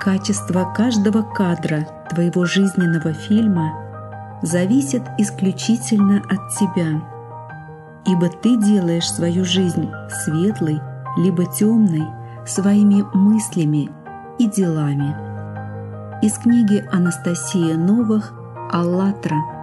Качество каждого кадра твоего жизненного фильма зависит исключительно от тебя, ибо ты делаешь свою жизнь светлой либо темной своими мыслями и делами. Из книги Анастасии Новых «АЛЛАТРА.